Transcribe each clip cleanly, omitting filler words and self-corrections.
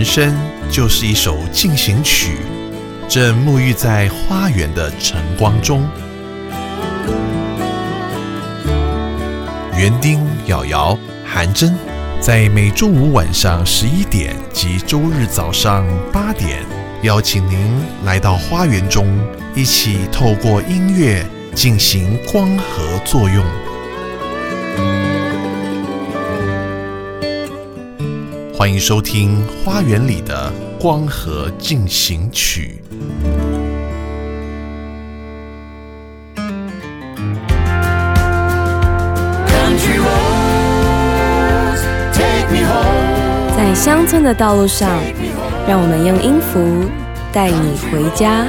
生就是一首进行曲，正沐浴在花园的晨光中。园丁、瑶瑶、韩真在每周五晚上11点及周日早上8点，邀请您来到花园中，一起透过音乐进行光合作用。欢迎收听花园里的光合进行曲。 在乡村的道路上，让我们用音符带你回家。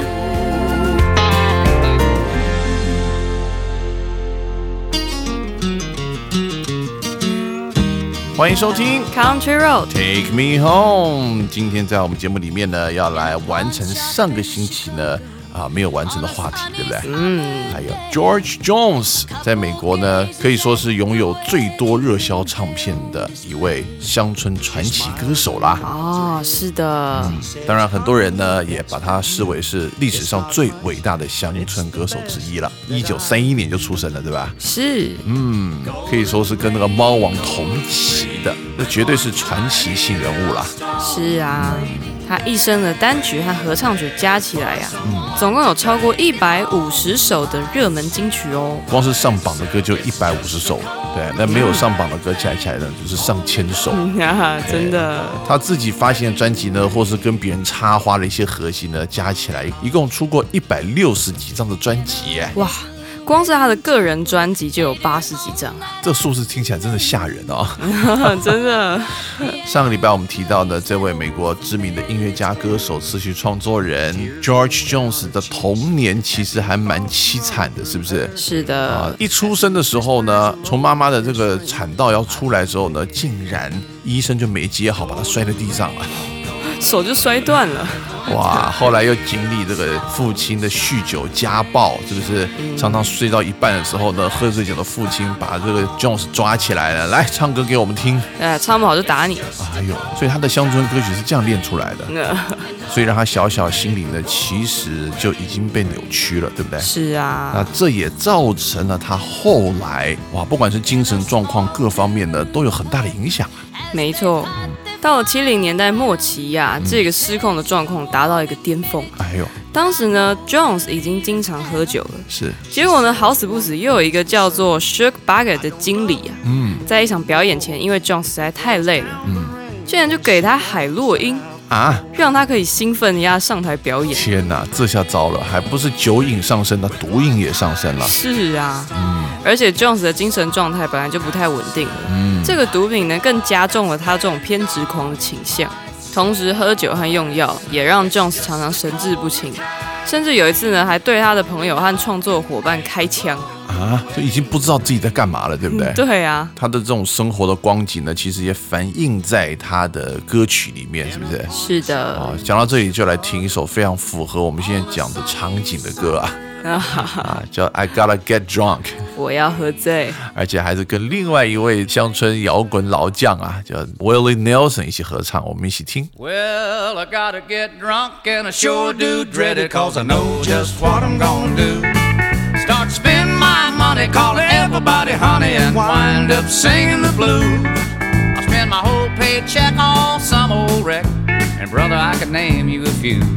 欢迎收听 Country Road Take Me Home。今天在我们节目里面呢，要来完成上个星期呢没有完成的话题，对不对？还有 George Jones 在美国呢，可以说是拥有最多热销唱片的一位乡村传奇歌手啦。 哦，是的。 当然，很多人呢也把他视为是历史上最伟大的乡村歌手之一了。1931年就出生了，对吧？ 是。 可以说是跟那个猫王同期的，那绝对是传奇性人物啦。 是啊。他一生的单曲和合唱曲加起来总共有超过150首的热门金曲哦。 光是上榜的歌就150首，对，那没有上榜的歌加起来呢，就是上千首。 真的。 他自己发行的专辑呢，或是跟别人插花的一些合集呢，加起来一共出过160几张的专辑耶。 哇！光是他的个人专辑就有80几张， 这数字听起来真的吓人哦。 真的。 上个礼拜我们提到的这位美国知名的音乐家、歌手、词曲创作人 George Jones 的童年其实还蛮凄惨的，是不是？ 是的。 一出生的时候呢，从妈妈的这个产道要出来的时候呢，竟然医生就没接好，把他摔在地上了。 手就摔断了。 哇！后来又经历这个父亲的酗酒家暴，是不是？常常睡到一半的时候呢，喝醉酒的父亲把这个 Jones 抓起来了，来唱歌给我们听。 唱不好就打你。 哎呦，所以他的乡村歌曲是这样练出来的。所以让他小小心灵呢，其实就已经被扭曲了，对不对？ 是啊。那这也造成了他后来不管是精神状况各方面呢，都有很大的影响。 没错。到了70年代末期这个失控的状况达到一个巅峰。当时呢 ，Jones 已经经常喝酒了。 是。结果呢，好死不死又有一个叫做 Shug Barker 的经理在一场表演前，因为 Jones 实在太累了，竟然就给他海洛因让他可以兴奋一下上台表演。 天哪，这下糟了，还不是酒瘾上升，那毒瘾也上升了。 是啊。而且 Jones 的精神状态本来就不太稳定了，这个毒品呢更加重了他这种偏执狂的倾向。同时喝酒和用药也让 Jones 常常神志不清，甚至有一次呢还对他的朋友和创作伙伴开枪。 就已经不知道自己在干嘛了，对不对？ 对啊。 他的这种生活的光景呢，其实也反映在他的歌曲里面，是不是？ 是的。 讲到这里就来听一首非常符合我们现在讲的场景的歌叫 I Gotta Get Drunk， 我要喝醉， 而且还是跟另外一位乡村摇滚老将叫 Willie Nelson 一起合唱，我们一起听。 Well, I gotta get drunk and I sure do dread it, cause I know just what I'm gonna do. Start spending my money, calling everybody honey, and wind up singing the blues. I spend my whole paycheck on some old wreck, and brother, I could name you a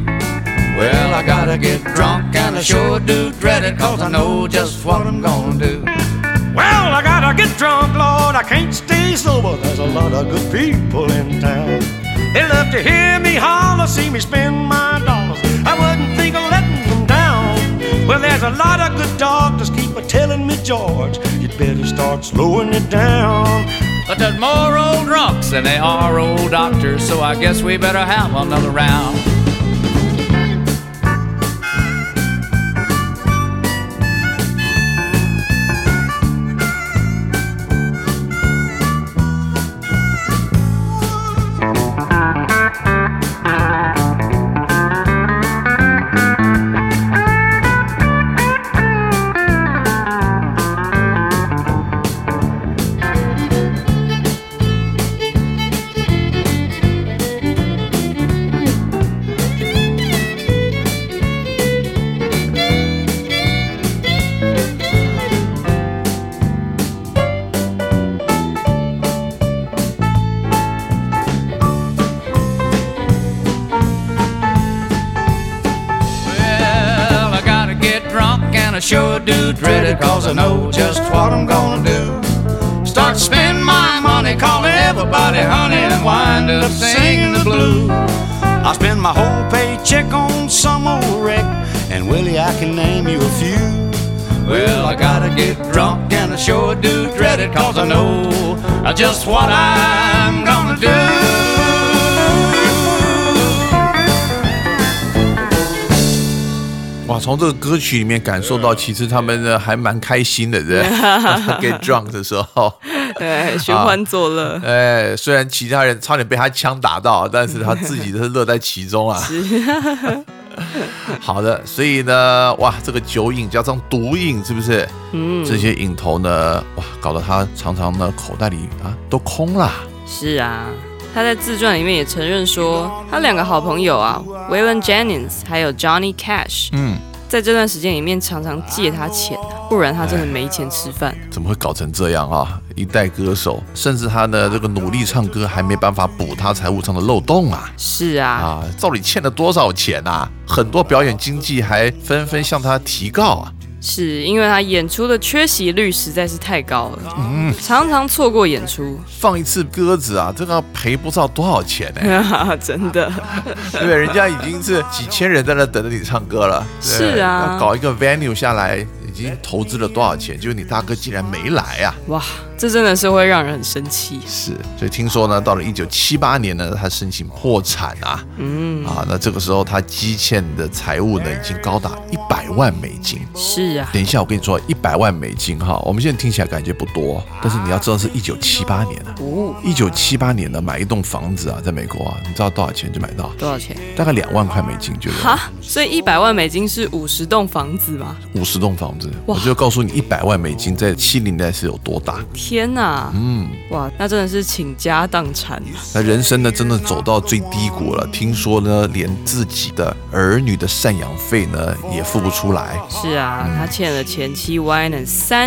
few.Well, I gotta get drunk and I sure do dread it, cause I know just what I'm gonna do. Well, I gotta get drunk, Lord, I can't stay sober. There's a lot of good people in town. They love to hear me holler, see me spend my dollars. I wouldn't think of letting them down. Well, there's a lot of good doctors keep telling me, George, you'd better start slowing it down. But there's more old drunks than there are old doctors, so I guess we better have another round. sure do dread it, 'cause I know just what I'm gonna do. Start spending my money, calling everybody honey, and wind up singing the blues. I spend my whole paycheck on some old wreck, and Willie, I can name you a few. Well, I gotta get drunk, and I sure do dread it, 'cause I know just what I'm gonna do. 哇，从这个歌曲里面感受到，其实他们呢还蛮开心的，对不对？Get drunk 的时候， 对，寻欢作乐。 虽然其他人差点被他枪打到，但是他自己是乐在其中啊。好的，所以呢，哇，这个酒瘾加上毒瘾，是不是？这些瘾头呢，哇，搞得他常常呢口袋里都空了。 是啊。他在自传里面也承认说，他2个好朋友啊 ，Waylon Jennings 还有 Johnny Cash，在这段时间里面常常借他钱不然他真的没钱吃饭。 怎么会搞成这样啊？一代歌手，甚至他的这个努力唱歌还没办法补他财务上的漏洞啊！ 是啊， 到底欠了多少钱啊？很多表演经纪还纷纷向他提告啊！ 是因为他演出的缺席率实在是太高了，常常错过演出， 放一次鸽子啊，这个要赔不知道多少钱呢、 真的， 对，人家已经是几千人在那等着你唱歌了， 是啊， 要搞一个 venue 下来，已经投资了多少钱，结果你大哥竟然没来啊！ 哇，这真的是会让人很生气。 是，所以听说呢，到了1978年呢，他申请破产啊，那这个时候他积欠的财务呢，已经高达100万美金。 是啊， 等一下我跟你说，100万美金哈，我们现在听起来感觉不多，但是你要知道是1978年啊，1978年呢，买一栋房子啊，在美国啊，你知道多少钱就买到？ 多少钱？ 大概2万块美金，觉得哈，所以100万美金是50栋房子吗 ？50栋房子，我就告诉你100万美金在70年代是有多大。 天哪，哇，那真的是倾家荡产。 那人生呢，真的走到最低谷了。听说呢，连自己的儿女的赡养费呢，也付不出来。 是啊，他欠了前妻 Wyman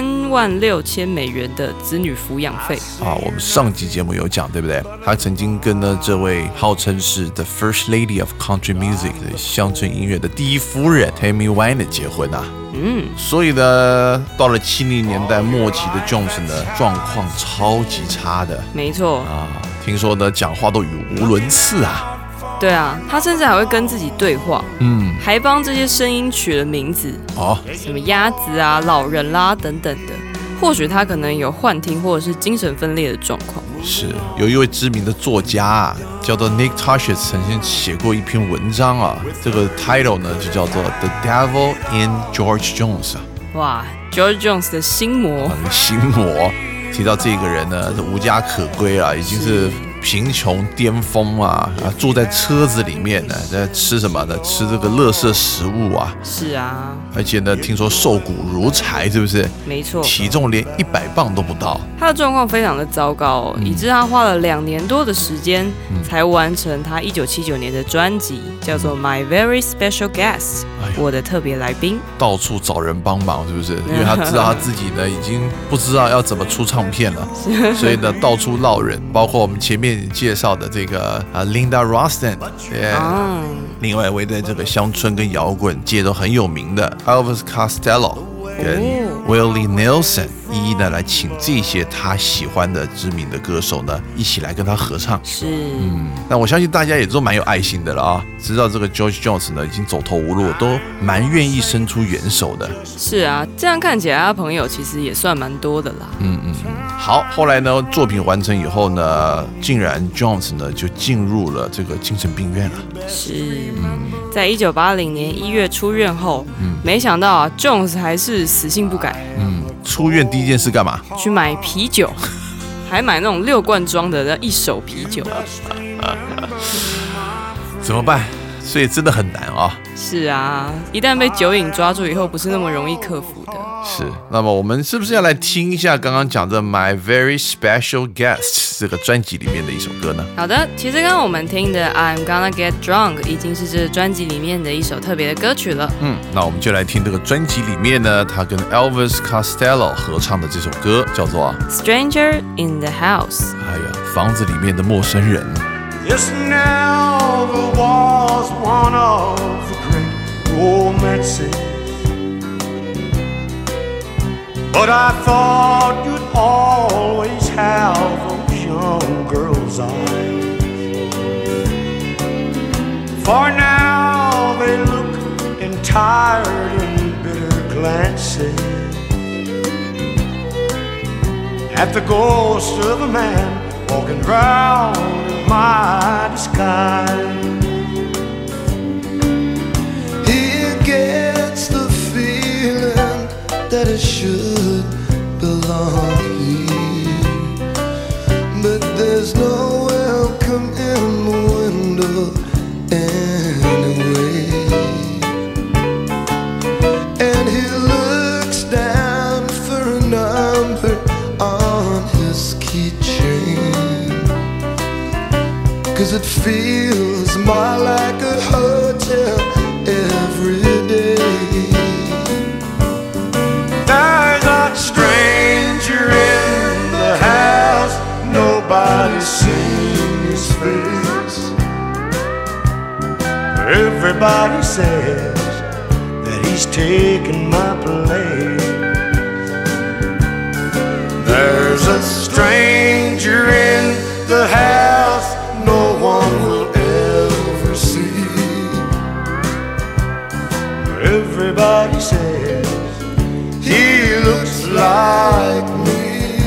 36000美元的子女抚养费啊。我们上集节目有讲，对不对？他曾经跟呢这位号称是 The First Lady of Country Music 的乡村音乐的第一夫人 Tammy Wynette 结婚啊。所以呢，到了70年代末期的 Jones 呢，状况超级差的。 没错啊，听说呢，讲话都语无伦次啊。 对啊，他甚至还会跟自己对话，还帮这些声音取了名字，什么鸭子啊、老人啦等等的。或许他可能有幻听或者是精神分裂的状况。 是，有一位知名的作家啊，叫做 Nick Tosches， 曾经写过一篇文章啊，这个 title 呢就叫做 The Devil in George Jones 啊。 哇 ，George Jones 的心魔， 心魔。提到这个人呢，无家可归啊，已经是贫穷巅峰啊，住在车子里面呢，在吃什么呢？吃这个垃圾食物啊。 是啊， 而且呢，听说瘦骨如柴，是不是？ 没错， 体重连100磅都不到。 他的状况非常的糟糕，以致他花了2年多的时间才完成他1979年的专辑，叫做 My Very Special Guest，我的特别来宾。 到处找人帮忙，是不是？因为他知道他自己呢，已经不知道要怎么出唱片了，所以呢，到处绕人，包括我们前面介绍的这个Linda Ronstadt，另外一位在这个乡村跟摇滚界都很有名的 Elvis Costello 跟 Willie Nelson，一一的来请这些他喜欢的知名的歌手呢，一起来跟他合唱。 是， 那我相信大家也都蛮有爱心的了啊，知道这个 George Jones 呢已经走投无路，都蛮愿意伸出援手的。 是啊，这样看起来他朋友其实也算蛮多的啦。 好，后来呢，作品完成以后呢，竟然 Jones 呢就进入了这个精神病院了。 是，在1980年1月出院后，没想到啊 ，Jones 还是死性不改。 出院第一件事干嘛？ 去买啤酒，还买那种6罐装的1手啤酒。 怎么办？所以真的很难啊。 是啊，一旦被酒瘾抓住以后，不是那么容易克服的。 是，那么我们是不是要来听一下刚刚讲的 My Very Special Guest 这个专辑里面的一首歌呢？ 好的，其实刚刚我们听的 I'm Gonna Get Drunk 已经是这专辑里面的一首特别的歌曲了。 那我们就来听这个专辑里面呢，他跟 Elvis Costello 合唱的这首歌，叫做 Stranger in the House。 哎呀，房子里面的陌生人。 Yes, now there was one of the great romances But I thought you'd always have those young girl's eyes. For now they look in tired and bitter glances at the ghost of a man walking round in my disguise. He gets the feeling that it should belong here, but there's no welcome in the window anyway. And he looks down for a number on his keychain, 'cause it feels more like a hotel every day. There's a stranger in the house, nobody's seen his face. Everybody says that he's taken my place. There's a stranger in the house no one will ever see. Everybody says he looks like me.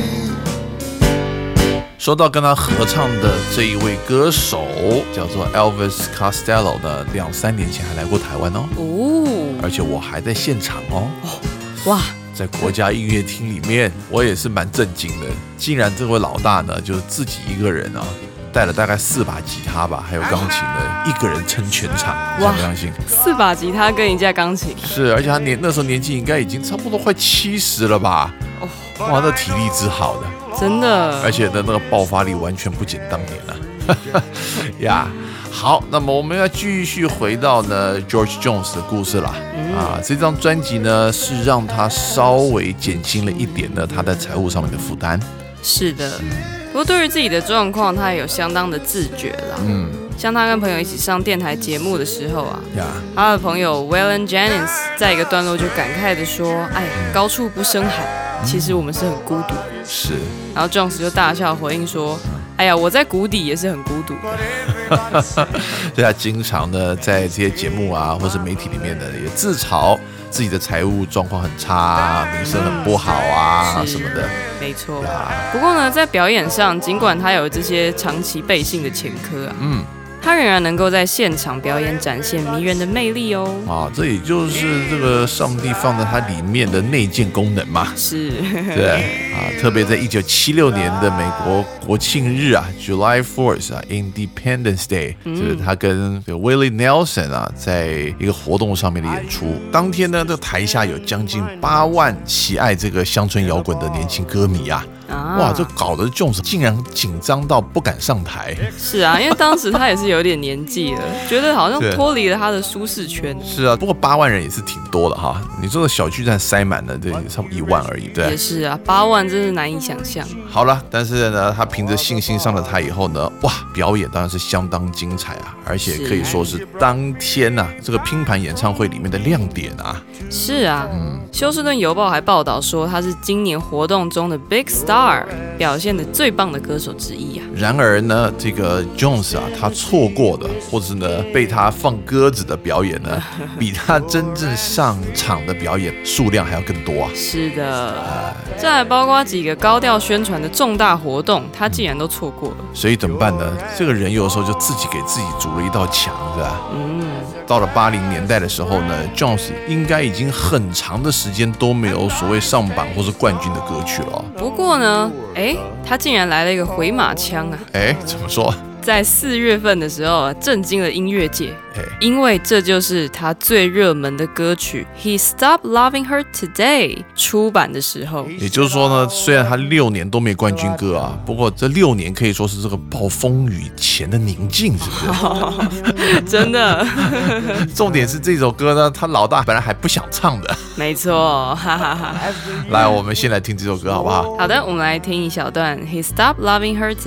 说到跟他合唱的这一位歌手叫做 Elvis Costello 呢，2-3年前还来过台湾哦，而且我还在现场哦。 哇！ 在国家音乐厅里面，我也是蛮震惊的，竟然这位老大呢，就是自己一个人啊，带了大概4把吉他吧，还有钢琴呢，一个人撑全场，相不相信 ？4把吉他跟一架钢琴， 是，而且他那时候年纪应该已经差不多快70了吧？哇，那体力之好的， 真的， 而且的那个爆发力完全不减当年了呀。好，那么我们要继续回到呢 George Jones 的故事啦。这张专辑呢是让他稍微减轻了一点呢他在财务上面的负担。 是的，不过对于自己的状况，他也有相当的自觉啦。像他跟朋友一起上电台节目的时候啊，他的朋友 Waylon Jennings 在一个段落就感慨的说：“哎呀，高处不胜寒，其实我们是很孤独。” 是， 然后 Jones 就大笑回应说：“哎呀，我在谷底也是很孤独的。” 对啊，经常呢在这些节目啊，或是媒体里面呢，也自嘲自己的财务状况很差，名声很不好啊什么的。 没错。不过呢，在表演上，尽管他有这些长期背信的前科啊，他仍然能够在现场表演展现迷人的魅力哦。这也就是这个上帝放在他里面的内建功能嘛。是， 对特别在1976年的美国国庆日啊 ，July 4th 啊 ，Independence Day，就是他跟 Willie Nelson 啊，在一个活动上面的演出。当天呢，这台下有将近8万喜爱这个乡村摇滚的年轻歌迷啊。哇，这搞得 Jones 竟然紧张到不敢上台。是啊，因为当时他也是有点年纪了，觉得好像脱离了他的舒适圈。是啊，不过8万人也是挺多的哈。你说的小巨蛋塞满了，对，差不多1万而已，对。也是啊，8万真是难以想象。好了，但是呢，他凭着信心上了台以后呢，哇，表演当然是相当精彩啊，而且可以说是当天啊这个拼盘演唱会里面的亮点啊。是啊，休斯顿邮报还报道说他是今年活动中的 Big Star， 表现的最棒的歌手之一啊。然而呢，这个 Jones 啊，他错过的，或者是呢被他放鸽子的表演呢，比他真正上场的表演数量还要更多啊。是的，这还包括几个高调宣传的重大活动，他竟然都错过了。所以怎么办呢？这个人有的时候就自己给自己筑了一道墙，是吧？到了80年代的时候呢 ，Jones 应该已经很长的时间都没有所谓上榜或是冠军的歌曲了。不过呢，他竟然来了一个回马枪啊！怎么说？在4月份的时候震惊了音乐界，因为这就是他最热门的歌曲《He Stopped Loving Her Today》出版的时候。也就是说呢，虽然他6年都没冠军歌啊，不过这6年可以说是这个暴风雨前的宁静，是不是？真的。重点是这首歌呢，他老大本来还不想唱的。没错，哈哈哈。来，我们先来听这首歌好不好？好的，我们来听一小段《He Stopped Loving Her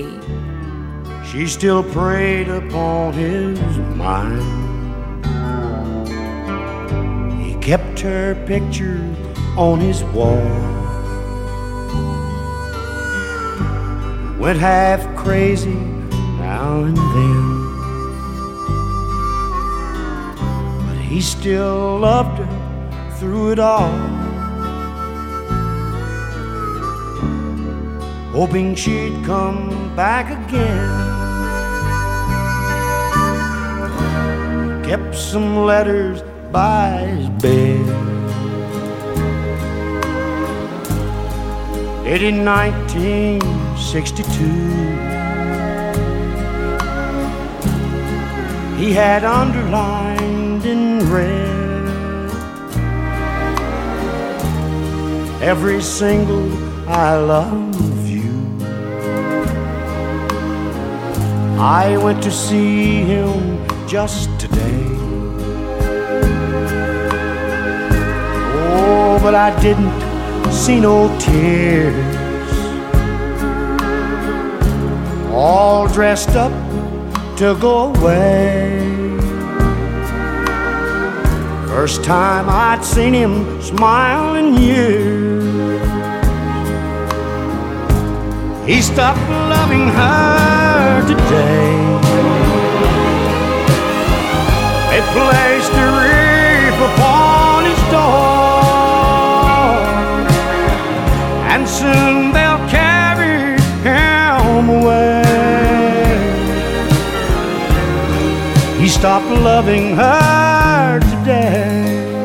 Today》。She still preyed upon his mind. He kept her picture on his wall. Went half crazy now and then, but he still loved her through it all, hoping she'd come back again. Kept some letters by his bed, dated 1962. He had underlined in red every single I love you. I went to see him just today. Oh, but I didn't see no tears. All dressed up to go away. First time I'd seen him smile in years. He stopped loving her today. They placed a wreath upon his door, and soon they'll carry him away. He stopped loving her today.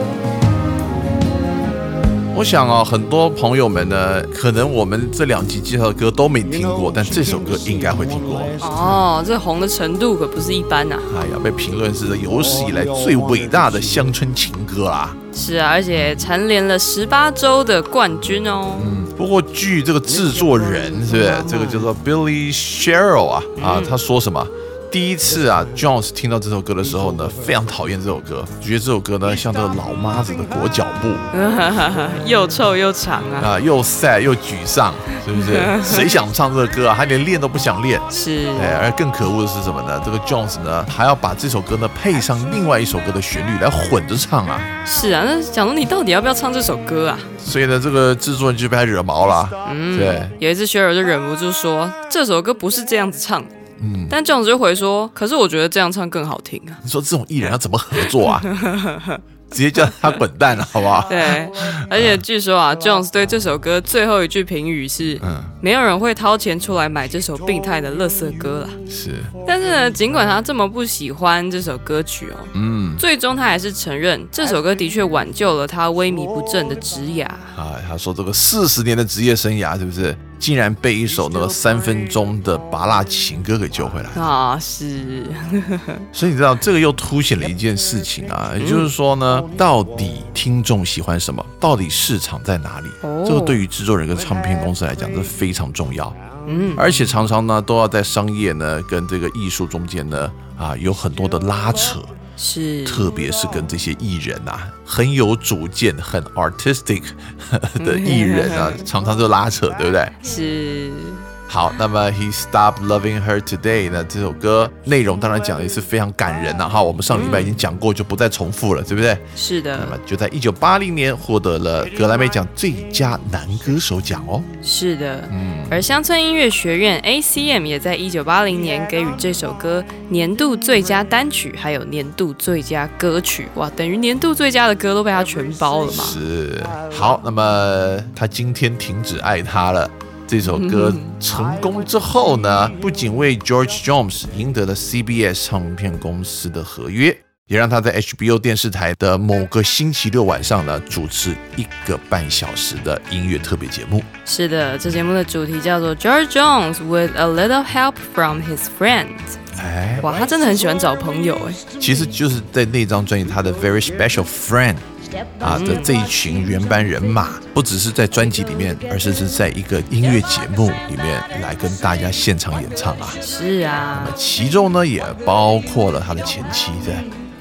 我想啊，很多朋友们呢，可能我们这2集介绍的歌都没听过，但这首歌应该会听过。 哦，这红的程度可不是一般啊！ 哎呀，被评论是有史以来最伟大的乡村情歌啦。 是啊，而且蝉联了18周的冠军哦。 不过据这个制作人是不是这个叫做 Billy Sherrill 啊，他说什么？第一次啊 ，Jones 听到这首歌的时候呢，非常讨厌这首歌，觉得这首歌呢像这个老妈子的裹脚布， 又臭又长啊， 又 sad 又沮丧，是不是？谁想唱这个歌啊？他连练都不想练。 是， 而更可恶的是什么呢？这个 Jones 呢还要把这首歌呢配上另外一首歌的旋律来混着唱啊。 是啊，那想说你到底要不要唱这首歌啊？ 所以呢，这个制作人就被他惹毛了。对， 有一次雪儿就忍不住说这首歌不是这样子唱的。但 Jones 就回说，可是我觉得这样唱更好听啊。 你说这种艺人要怎么合作啊？直接叫他滚蛋了，好不好？ 对，而且据说啊 ，Jones 对这首歌最后一句评语是：没有人会掏钱出来买这首病态的垃圾歌啦。 是， 但是呢，尽管他这么不喜欢这首歌曲哦，最终他还是承认这首歌的确挽救了他萎靡不振的职涯。 他说这个40年的职业生涯，是不是竟然被一首那个3分钟的芭乐情歌给救回来啊？是， 所以你知道这个又凸显了一件事情啊，也就是说呢，到底听众喜欢什么，到底市场在哪里？这个对于制作人跟唱片公司来讲，这非常重要。而且常常呢，都要在商业呢跟这个艺术中间呢，有很多的拉扯。 是， 特别是跟这些艺人啊，很有主见、很 artistic 的艺人啊，常常就拉扯，对不对？ 是。 好，那么 He Stopped Loving Her Today 呢？这首歌内容当然讲的也是非常感人啊，我们上礼拜已经讲过，就不再重复了，对不对？ 是的。 那么就在1980年获得了格莱美奖最佳男歌手奖哦。 是的，而乡村音乐学院 ACM 也在1980年给予这首歌年度最佳单曲，还有年度最佳歌曲。哇，等于年度最佳的歌都被他全包了嘛。 是。好，那么他今天停止爱他了。这首歌成功之后呢，不仅为 George Jones 赢得了 CBS 唱片公司的合约，也让他在 HBO 电视台的某个星期六晚上呢主持1个半小时的音乐特别节目。 是的，这节目的主题叫做 George Jones with a little help from his friends。哇，他真的很喜欢找朋友哎。其实就是在那张专辑他的 Very Special Friend的这一群原班人马，不只是在专辑里面，而是在一个音乐节目里面来跟大家现场演唱啊。 是啊， 那么其中呢也包括了他的前妻在。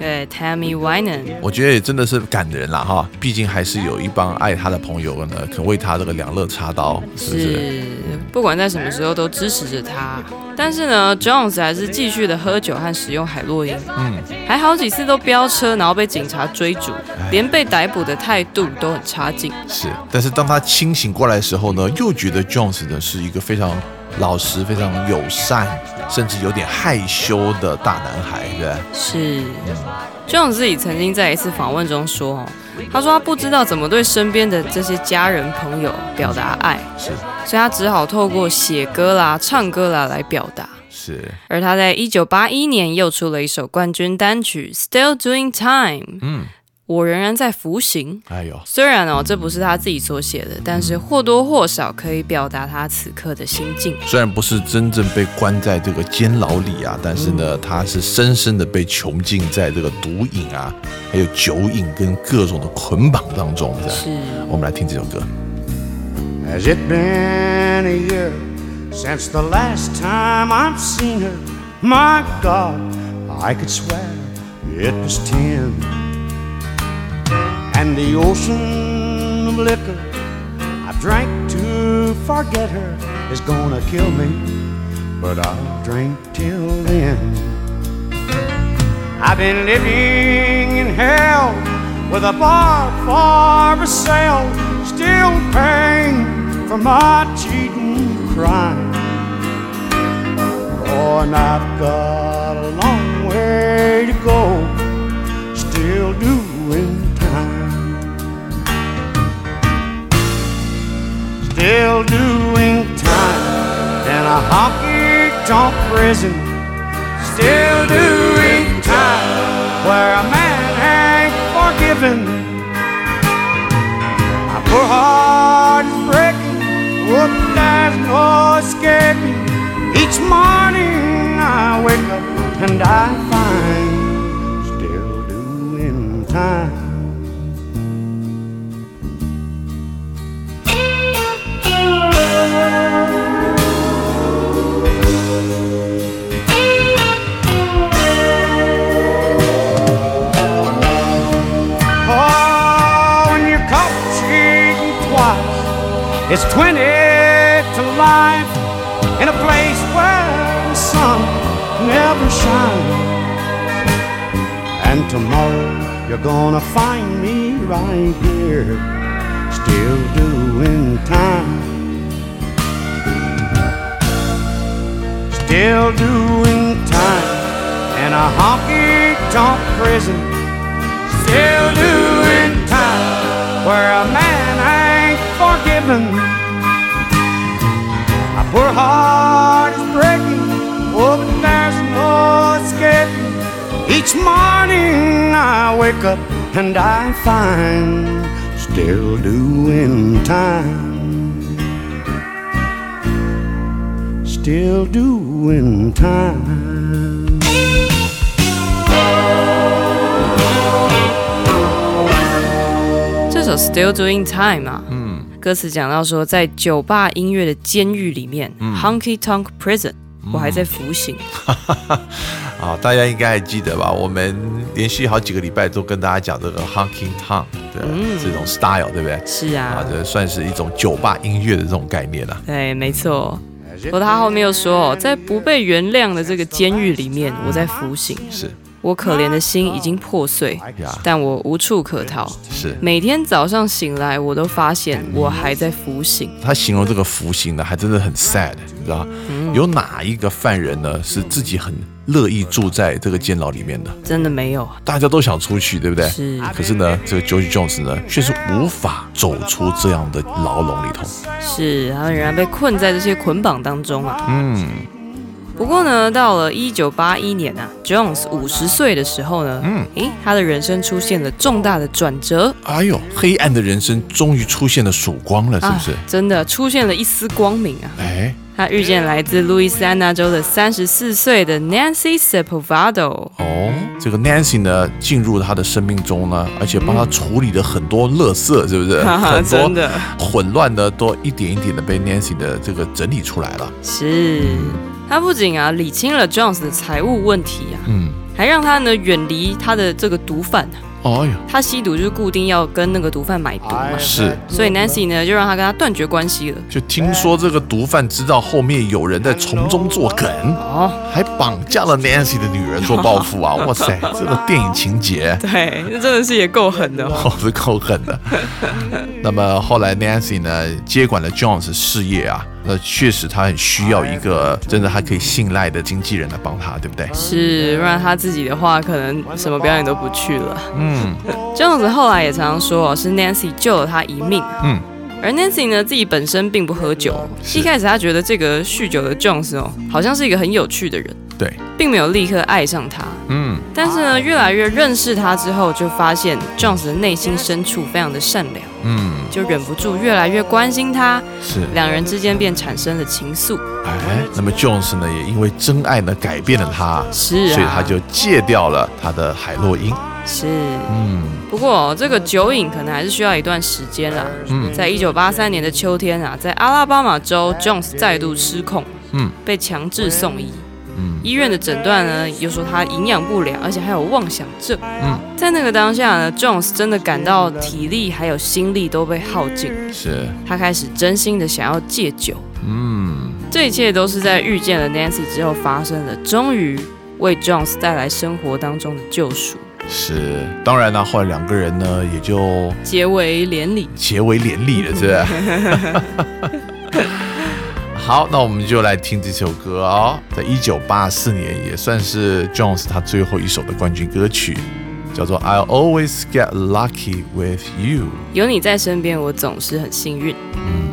对 ，Tammy Wynette。 我觉得也真的是感人啦哈，毕竟还是有一帮爱他的朋友呢，肯为他这个两肋插刀，是不是？ 不管在什么时候都支持着他。但是呢 ，Jones 还是继续的喝酒和使用海洛因，还好几次都飙车，然后被警察追逐，连被逮捕的态度都很差劲。 是，但是当他清醒过来的时候呢，又觉得 Jones 呢是一个非常老实、非常友善，甚至有点害羞的大男孩，对不对？ 是，Jones 自己曾经在一次访问中说，他说他不知道怎么对身边的这些家人朋友表达爱， 是， 所以他只好透过写歌啦、唱歌啦来表达。 是， 而他在1981年又出了一首冠军单曲《Still Doing Time》。我仍然在服刑。 哎呦， 虽然这不是他自己所写的，但是或多或少可以表达他此刻的心境。 虽然不是真正被关在这个监牢里啊，但是呢，他是深深的被囚禁在这个毒瘾啊，还有酒瘾跟各种的捆绑当中。 是， 我们来听这首歌。 Has it been a year since the last time I've seen her? My God, I could swear it was 10. And the ocean of liquor I've drank to forget her is gonna kill me, but I'll drink till then. I've been living in hell with a bar for sale, still paying for my cheating crime. Oh, and I've got a long way to go, still doing still doing time in a honky-tonk prison. Still doing time where a man ain't forgiven. My poor heart is breaking, whoop, there's no escaping. Each morning I wake up and I find still doing time. It's 20 to life in a place where the sun never shines. And tomorrow you're gonna find me right here, still doing time. Still doing time in a honky-tonk prison. Still doing time where a man ain't forgiven. My poor heart is breaking, oh, but there's no escaping. Each morning I wake up and I find still doing time. Still doing time. 这首 Still Doing Time 啊，歌词讲到说，在酒吧音乐的监狱里面，Honky Tonk Prison，我还在服刑。 啊，大家应该还记得吧？我们连续好几个礼拜都跟大家讲这个 Honky Tonk 的这种 style，对不对？ 是啊， 这算是一种酒吧音乐的这种概念啊。 对，没错。不过他后面又说，在不被原谅的这个监狱里面，我在服刑。 是。 我可怜的心已经破碎，但我无处可逃。 是， 每天早上醒来，我都发现我还在服刑。 他形容这个服刑呢，还真的很 sad， 你知道吗？有哪一个犯人呢是自己很乐意住在这个监牢里面的？ 真的没有， 大家都想出去，对不对？ 是。 可是呢，这个 George Jones 呢，却是无法走出这样的牢笼里头。 是，他仍然被困在这些捆绑当中啊。不过呢，到了1981年啊 ，Jones 50岁的时候呢，他的人生出现了重大的转折。哎呦， 黑暗的人生终于出现了曙光了，是不是？ 真的出现了一丝光明啊！他遇见来自路易斯安那州的34岁的 Nancy Sepulvado。 这个 Nancy 呢，进入他的生命中呢，而且帮他处理了很多垃圾，是不是？很多混乱的都一点一点的被 Nancy 的这个整理出来了。 是。他不仅理清了 Jones 的财务问题啊， 还让他呢远离他的这个毒贩。 哦哟， 他吸毒就是固定要跟那个毒贩买毒嘛， 是， 所以 Nancy 呢就让他跟他断绝关系了。 就听说这个毒贩知道后面有人在从中作梗，还绑架了 Nancy 的女儿做报复啊！哇塞，这个电影情节， 对，这真的是也够狠的哦， 是够狠的。那么后来 Nancy 呢接管了 Jones 事业啊。那确实，他很需要一个真的还可以信赖的经纪人来帮他，对不对？ 是，不然他自己的话，可能什么表演都不去了。Jones 后来也常常说，是 Nancy 救了他一命。而 Nancy 呢，自己本身并不喝酒。一开始他觉得这个酗酒的 Jones 好像是一个很有趣的人， 对， 并没有立刻爱上他。但是呢，越来越认识他之后，就发现 Jones 的内心深处非常的善良。就忍不住越来越关心他， 是两人之间便产生了情愫。 那么 Jones 呢，也因为真爱呢改变了他， 是啊， 所以他就戒掉了他的海洛因。 是，不过这个酒瘾可能还是需要一段时间啦。在1983年的秋天啊，在阿拉巴马州 ，Jones 再度失控，被强制送医。医院的诊断呢，又说他营养不良，而且还有妄想症。在那个当下呢 ，Jones 真的感到体力还有心力都被耗尽， 是他开始真心的想要戒酒。这一切都是在遇见了 Nancy 之后发生的，终于为 Jones 带来生活当中的救赎。 是，当然呢，后来两个人呢也就结为连理， 了，是不是？好，那我们就来听这首歌哦，在1984年也算是 Jones 他最后一首的冠军歌曲，叫做 I'll Always Get Lucky With You。 有你在身边，我总是很幸运。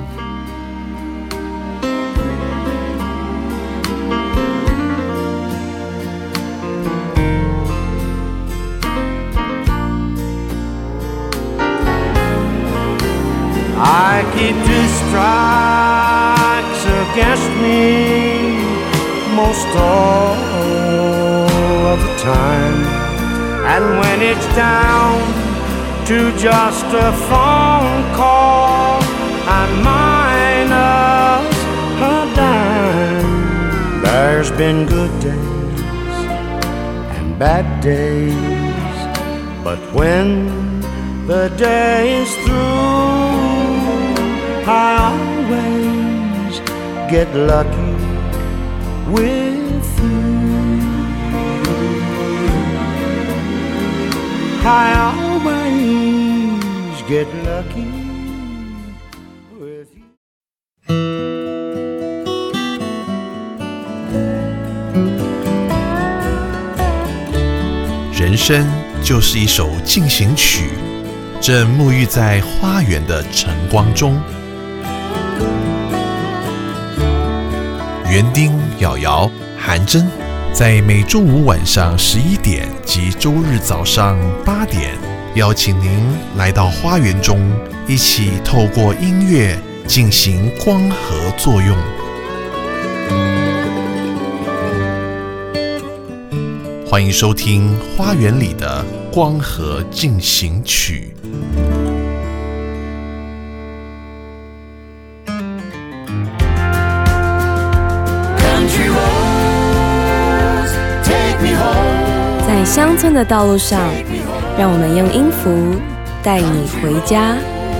I keep 2 strikes against me most all of the time, and when it's down to just a phone call, I'm minus a dime. There's been good days and bad days, but when the day is through, I always get lucky with you. I always get lucky with you. 人生就是一首进行曲，正沐浴在花园的晨光中。园丁、瑶瑶、韩真，在每周五晚上11点及周日早上8点，邀请您来到花园中，一起透过音乐进行光合作用。欢迎收听《花园里的光合进行曲》。 在乡村的道路上，让我们用音符带你回家。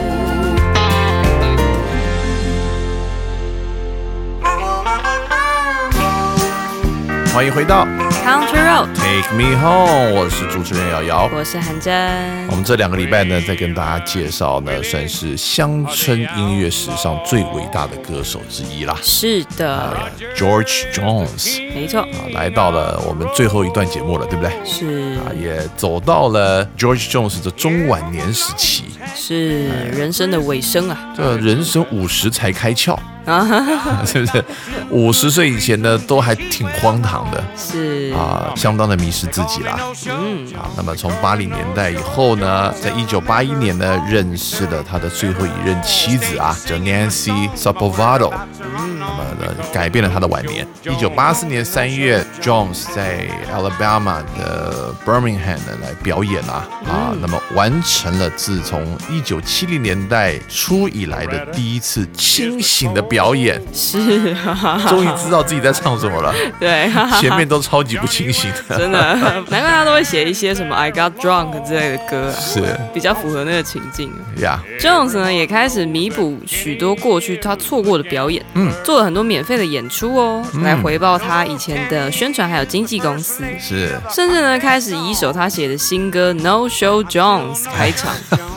欢迎回到 Country Road Take Me Home， 我是主持人瑶瑶， 我是韩真。 我们这2个礼拜呢，在跟大家介绍呢，算是乡村音乐史上最伟大的歌手之一啦。 是的 ，George Jones， 没错， 来到了我们最后一段节目了，对不对？ 是也走到了 George Jones 的中晚年时期， 是人生的尾声啊。 这人生50才开窍。是不是？50岁以前呢，都还挺荒唐的， 是相当的迷失自己啦。那么从80年代以后呢，在1981年呢，认识了他的最后一任妻子啊，叫 Nancy Sapovado。那么呢，改变了他的晚年。1984年3月 ，Jones 在 Alabama 的 Birmingham 呢来表演那么完成了自从1970年代初以来的第一次清醒的表演。 是， 终于知道自己在唱什么了。 对， 前面都超级级不清醒的。 真的，难怪他都会写一些什么 I Got Drunk 之类的歌啊， 是比较符合那个情境呀。 Jones 呢也开始弥补许多过去他错过的表演，做了很多免费的演出哦，来回报他以前的宣传还有经纪公司， 是， 甚至呢开始以一首他写的新歌 No Show Jones 开场。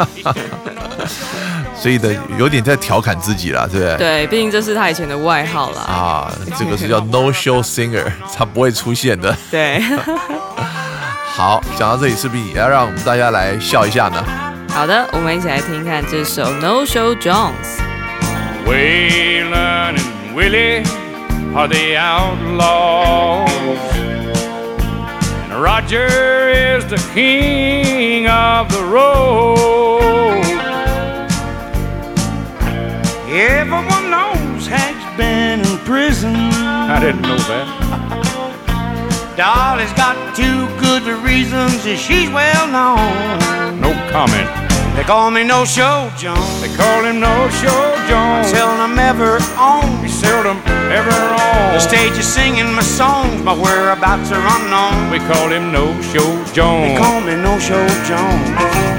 所以的有点在调侃自己啦，对不对？ 对，毕竟这是他以前的外号啦。 啊，这个是叫 No Show Singer， 他不会出现的。 对。 好，讲到这里，是不是也要让我们大家来笑一下呢？ 好的，我们一起来听看这首 No Show Waylon and Willie are the outlaws, and Roger is the king of the road. Everyone knows Hank's been in prison. I didn't know that. Dolly's got two good reasons that she's well known. No comment. They call me No Show Jones. They call him No Show Jones. Seldom ever on. He's seldom ever on The stage is singing my songs, my whereabouts are unknown. We call him No Show Jones. They call me No Show Jones.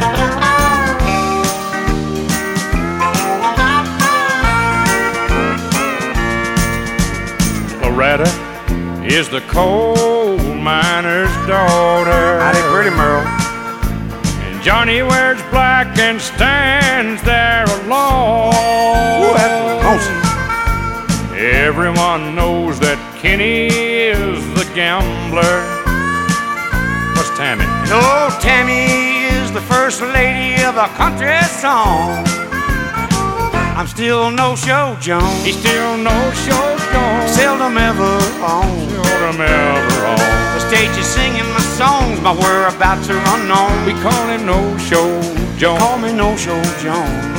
Loretta is the coal miner's daughter. Howdy, pretty Merle. And Johnny wears black and stands there alone. Ooh, that's lonesome. Everyone knows that Kenny is the gambler. What's Tammy? No, Tammy is the first lady of a country song. I'm still No Show Jones. He's still No Show Jones. Seldom ever on. Seldom ever on. The stage is singing my songs, my whereabouts are unknown. We call him No Show Jones. Call me No Show Jones.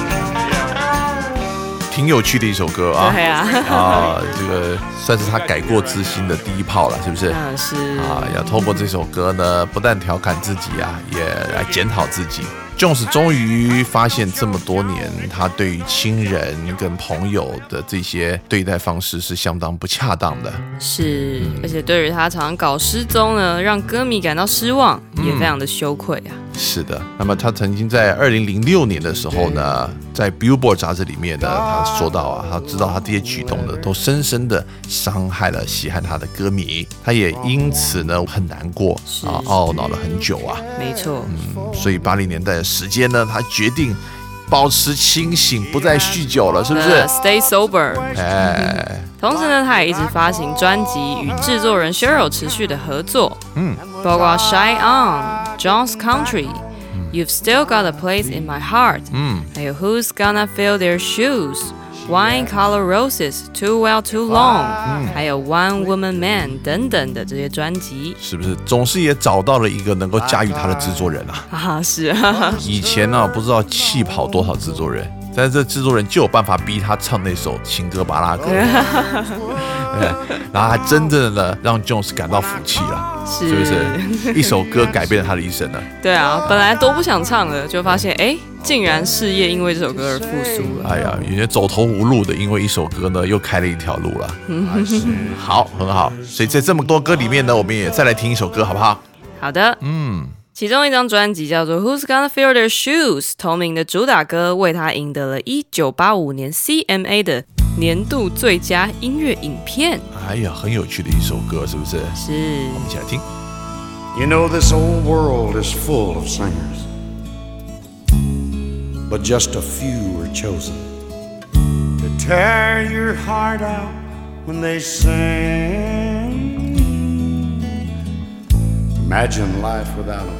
挺有趣的一首歌啊。 对啊。 这个算是他改过自新的第一炮了，是不是？ 是啊，要透过这首歌呢，不但调侃自己啊，也来检讨自己。Jones 终于发现这么多年，他对于亲人跟朋友的这些对待方式是相当不恰当的。 是，而且对于他常常搞失踪呢，让歌迷感到失望，也非常的羞愧啊。 是的，那么他曾经在2006年的时候呢，在 Billboard 杂志里面呢，他说到啊，他知道他这些举动呢，都深深的伤害了喜爱他的歌迷，他也因此呢很难过啊，懊恼了很久啊。 没错， 所以80年代的时间呢，他决定保持清醒，不再酗酒了，是不是 ？Stay sober。 哎， 同时呢，他也一直发行专辑，与制作人 Cheryl 持续的合作，包括 Shine On、Jones Country、You've Still Got a Place in My Heart，还有 Who's Gonna Fill Their Shoes、Wine Color Roses、Too Well Too Long，还有 One Woman Man 等等的这些专辑， 是不是总是也找到了一个能够驾驭他的制作人啊？ 是啊， 以前呢，不知道气跑多少制作人。但是这制作人就有办法逼他唱那首情歌巴拉歌，然后还真正的让 Jones 感到福气了，是不是？一首歌改变了他的一生呢？ 对啊，本来都不想唱的，就发现竟然事业因为这首歌而复苏了。 哎呀，有些走投无路的，因为一首歌呢，又开了一条路了。好，很好。所以在这么多歌里面呢，我们也再来听一首歌，好不好？ 好的，其中一张专辑叫做 Who's Gonna Fill Their Shoes， 同名的主打歌为他赢得了1985年 CMA 的年度最佳音乐影片。 哎呀，很有趣的一首歌，是不是？ 是。 我们一起来听。 You know this old world is full of singers, but just a few are chosen to tear your heart out when they sing. Imagine life without them.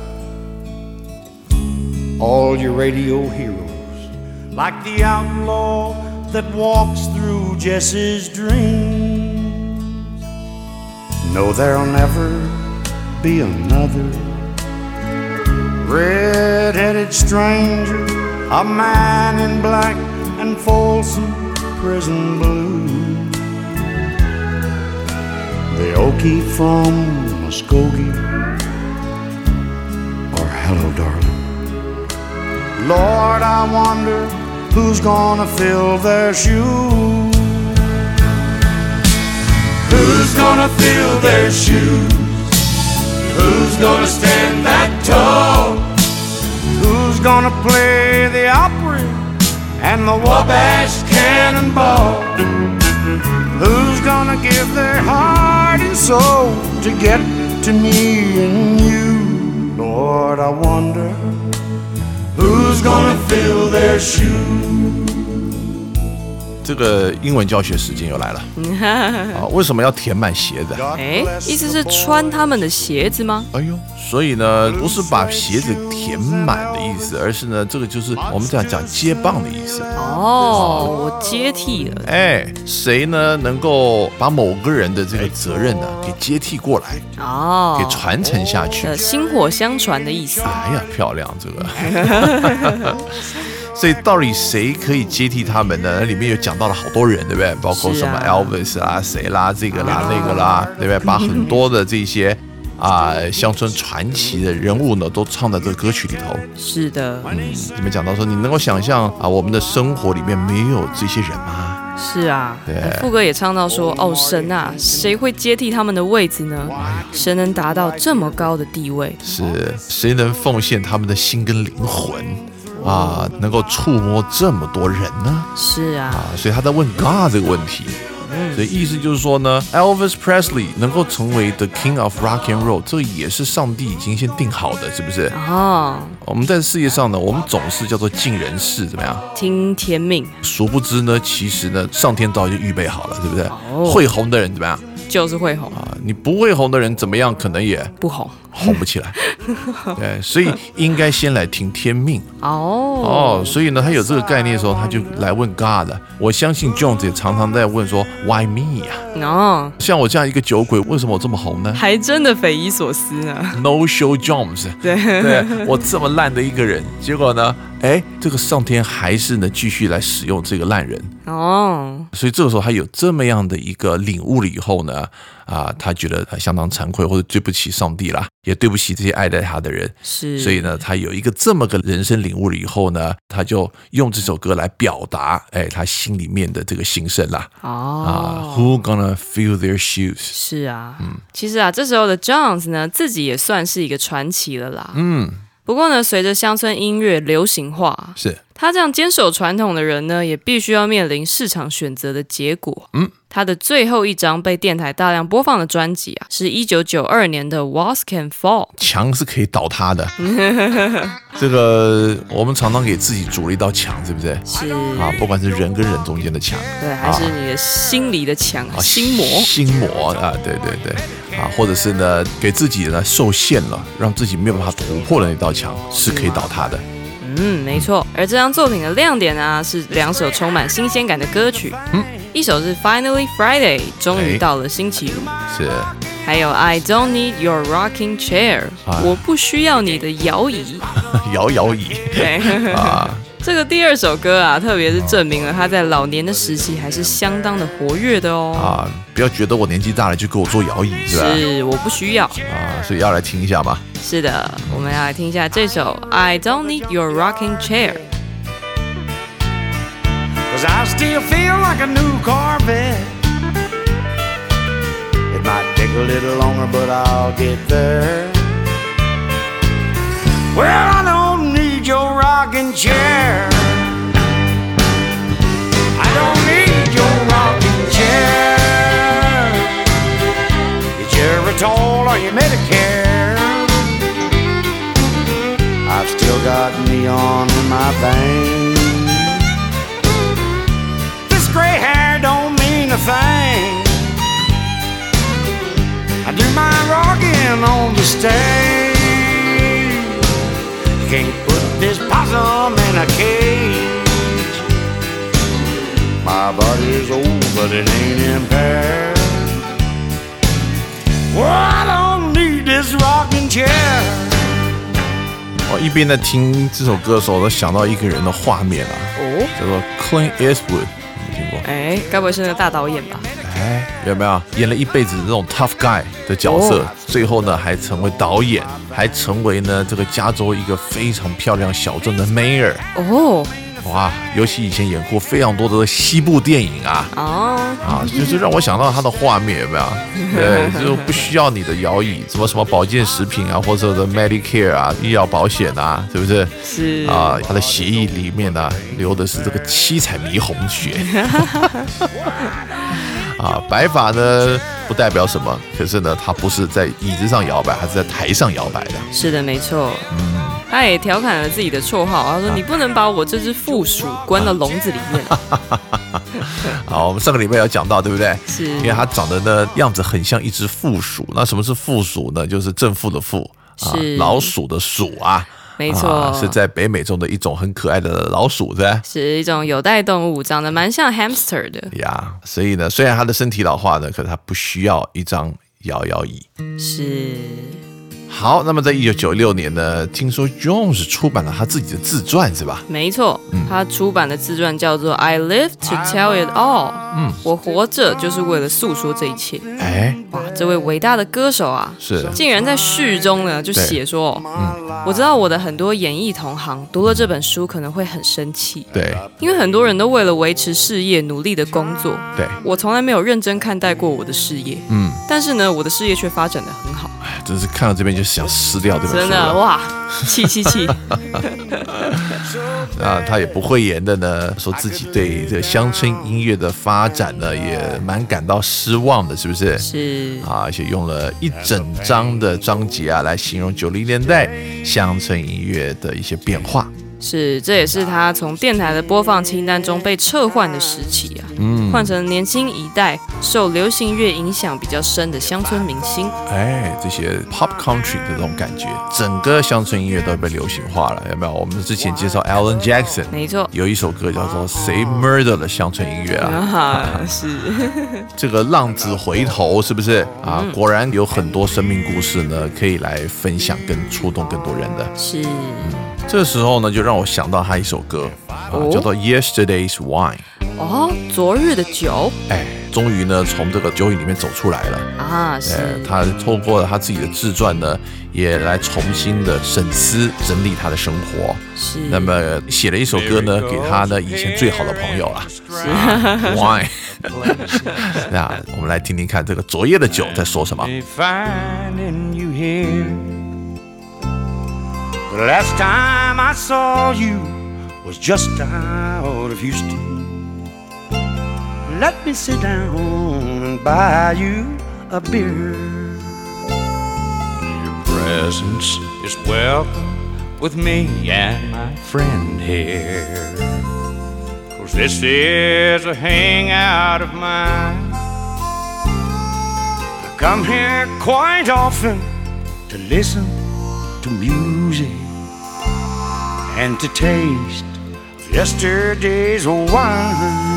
All your radio heroes, like the outlaw that walks through Jesse's dreams. No, there'll never be another red-headed stranger, a man in black and Folsom prison blue. The Okie from Muskogee, or hello, darling. Lord, I wonder who's gonna fill their shoes. Who's gonna fill their shoes? Who's gonna stand that tall? Who's gonna play the Opry and the Wabash Cannonball? Who's gonna give their heart and soul to get to me and you? Lord, I wonder who's gonna fill their shoes? 这个英文教学时间又来了啊！为什么要填满鞋子？ 意思是穿他们的鞋子吗？ 哎呦，所以呢，不是把鞋子填满的意思，而是呢，这个就是我们讲接棒的意思。 我接替了。 谁呢能够把某个人的这个责任呢给接替过来？给传承下去。 薪火相传的意思。 哎呀，漂亮这个。所以到底谁可以接替他们呢？那里面有讲到了好多人，对不对？包括什么 Elvis 啦、谁啦、这个啦、那个啦，对不对？把很多的这些乡村传奇的人物呢，都唱在这个歌曲里头。 是的， 你们讲到说，你能够想象我们的生活里面没有这些人吗？ 是啊， 对。 副歌也唱到说，神啊，谁会接替他们的位置呢？谁能达到这么高的地位？ 是谁能奉献他们的心跟灵魂？能够触摸这么多人呢？ 是啊， 所以他在问 God 这个问题。所以意思就是说呢 ，Elvis Presley 能够成为 The King of Rock and Roll， 这个也是上帝已经先定好的，是不是？我们在世界上呢，我们总是叫做尽人事，怎么样？ 听天命。 殊不知呢，其实呢，上天早就预备好了，对不对？会红的人怎么样？ 就是会红你不会红的人怎么样？可能也不红， 红不起来。对，所以应该先来听天命。所以呢，他有这个概念的时候，他就来问 God 了。我相信 Jones 也常常在问说 Why me 啊？像我这样一个酒鬼，为什么我这么红呢？ 还真的匪夷所思呢。 No Show Jones， 对，我这么烂的一个人，结果呢，这个上天还是呢继续来使用这个烂人。所以这个时候他有这么样的一个领悟了以后呢，他觉得相当惭愧，或者对不起上帝啦，也对不起这些爱戴他的人。 是， 所以呢，他有一个这么个人生领悟了以后呢，他就用这首歌来表达，他心里面的这个心声啦。Who gonna fill their shoes？ 是啊，其实这时候的 Jones 呢，自己也算是一个传奇了啦。不过呢，随着乡村音乐流行化， 是他这样坚守传统的人呢，也必须要面临市场选择的结果。他的最后一张被电台大量播放的专辑是1992年的 Walls Can Fall。 墙是可以倒塌的。这个我们常常给自己筑了一道墙，是不是？ 是不管是人跟人中间的墙， 对，还是你的心里的墙，心魔对，或者是呢给自己呢受限了，让自己没有办法突破的那道墙是可以倒塌的。 没错。而这张作品的亮点是两首充满新鲜感的歌曲。一首是 Finally Friday， 终于到了星期五。 是。 还有 I don't need your rocking chair， 我不需要你的摇椅。 摇椅。 对。这个第二首歌特别是证明了他在老年的时期还是相当的活跃的哦。 不要觉得我年纪大了就给我做摇椅，是吧？ 是，我不需要。 所以要来听一下吗？ 是的，我们要来听一下这首 I don't need your rocking chair。'Cause I still feel like a new Corvette. It might take a little longer, but I'll get there. Well, I don't need your rocking chair. I don't need your rocking chair. Your Geritol or your Medicare. I've still got neon in my veins.Gray hair don't mean a thing. I do my rocking on the stage. You can't put this possum in a cage. My body's old, but it ain't impaired. Well, I don't need this rocking chair. 一边在听这首歌的时候，我都想到一个人的画面叫做 Clint Eastwood。 该不会是那个大导演吧？ 有没有演了一辈子这种 tough guy 的角色，最后呢还成为导演，还成为呢这个加州一个非常漂亮小镇的 mayor。 哇，尤其以前演过非常多的西部电影啊，就是让我想到他的画面有没有？对，就不需要你的摇椅，什么保健食品啊，或者的 Medicare 啊，医疗保险啊，是不是？ 是啊，他的血液里面呢流的是这个七彩霓虹血。啊，白发呢不代表什么，可是呢，他不是在椅子上摇摆，他是在台上摇摆的。 是的，没错。他也调侃了自己的绰号，他说：“你不能把我这只负鼠关到笼子里面。” 好，我们上个礼拜有讲到，对不对？ 是， 因为他长得呢样子很像一只负鼠。那什么是负鼠呢？就是正负的负啊，老鼠的鼠啊。 没错， 是在北美中的一种很可爱的老鼠，对吧？ 是一种有袋动物，长得蛮像 hamster 的呀。所以呢，虽然他的身体老化呢，可是他不需要一张摇摇椅。 是。 好，那么在1996年呢，听说 Jones 出版了他自己的自传，是吧？ 没错，他出版的自传叫做《I Live to Tell It All》。我活着就是为了诉说这一切。哇，这位伟大的歌手啊， 是竟然在序中呢就写说，我知道我的很多演艺同行读了这本书可能会很生气， 对， 因为很多人都为了维持事业努力的工作， 对， 我从来没有认真看待过我的事业，但是呢，我的事业却发展得很好。 真是看到这边就想撕掉这本书了， 真的哇，气！ 啊，他也不讳言的呢，说自己对这个乡村音乐的发展呢，也蛮感到失望的，是不是？ 是啊，而且用了一整章的章节啊，来形容90年代乡村音乐的一些变化。 是，这也是他从电台的播放清单中被撤换的时期啊，换成年轻一代受流行乐影响比较深的乡村明星。 这些 pop country 的这种感觉，整个乡村音乐都被流行化了，有没有？我们之前介绍 Alan Jackson， 没错， 有一首歌叫做《谁 Murder》的乡村音乐啊， 是这个浪子回头，是不是啊？果然有很多生命故事呢，可以来分享跟触动更多人的。 是。 这时候呢，就让我想到他一首歌叫做《Yesterday's Wine》。 昨日的酒。 终于呢从这个酒瘾里面走出来了啊！是，他透过了他自己的自传呢，也来重新的审思整理他的生活。 是， 那么写了一首歌呢，给他呢以前最好的朋友啦。 是 ，Wine。那我们来听听看这个昨夜的酒在说什么。 The last time I saw you was just out of Houston. Let me sit down and buy you a beer. Your presence is welcome with me and my friend here. 'Cause this is a hangout of mine. I come here quite often to listen to music and to taste yesterday's wine.